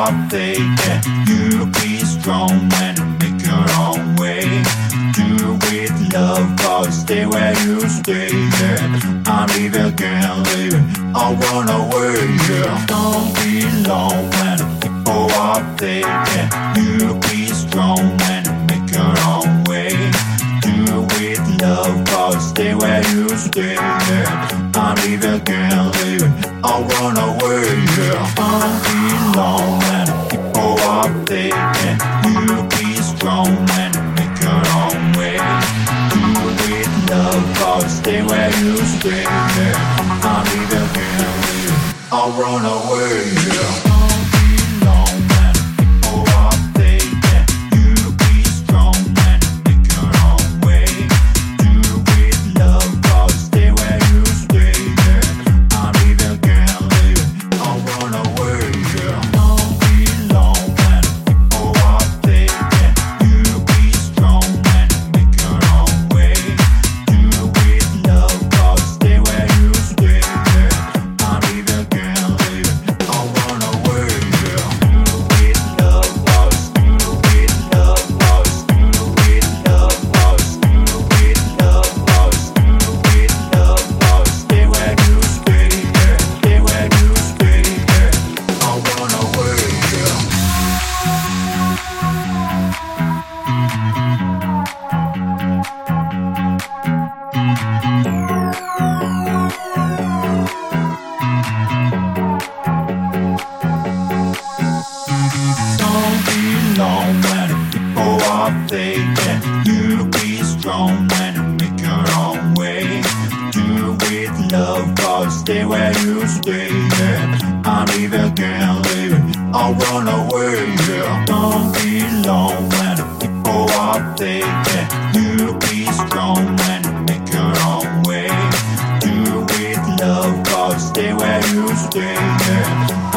are faking. You be strong and make your own way. Do with love, but stay where you stay. Yeah. I'm leaving, can't leave it. I run away. Yeah. Don't be alone when people are faking. You be strong and make your own way. Do with love, but stay where you stay. Yeah. I'm leaving, can't leave it. I run away. Yeah. Don't be alone when people are faking. You be strong and make your own way. Do with love, but stay where you stay. Yeah. I'm leaving, can't leave it. I'll run away. Yeah. Don't be alone when people are faking. You be strong and make your own way. Do with love, but stay where you stay. Yeah. I'm leaving, can't leave it. I'll run away. Yeah. Don't be alone when people are faking. You be strong and make your own way. Do with love, but stay where you stay. Yeah. I'm leaving, can't leave it. I'll run away. Yeah. Do with love, but do with love, but do with love, but do with love, but do with love, but stay where you stay. Yeah. Stay where you stay. Yeah. I'll run away. Yeah. Don't be alone when people are faking. You be strong and make your own way. Do with love, but stay where you stay. Yeah. I'm leaving, can't leave it. I'll run away. Yeah. Don't be alone when people are faking. You be strong and make your own way. Do with love, but stay where you stay. Yeah.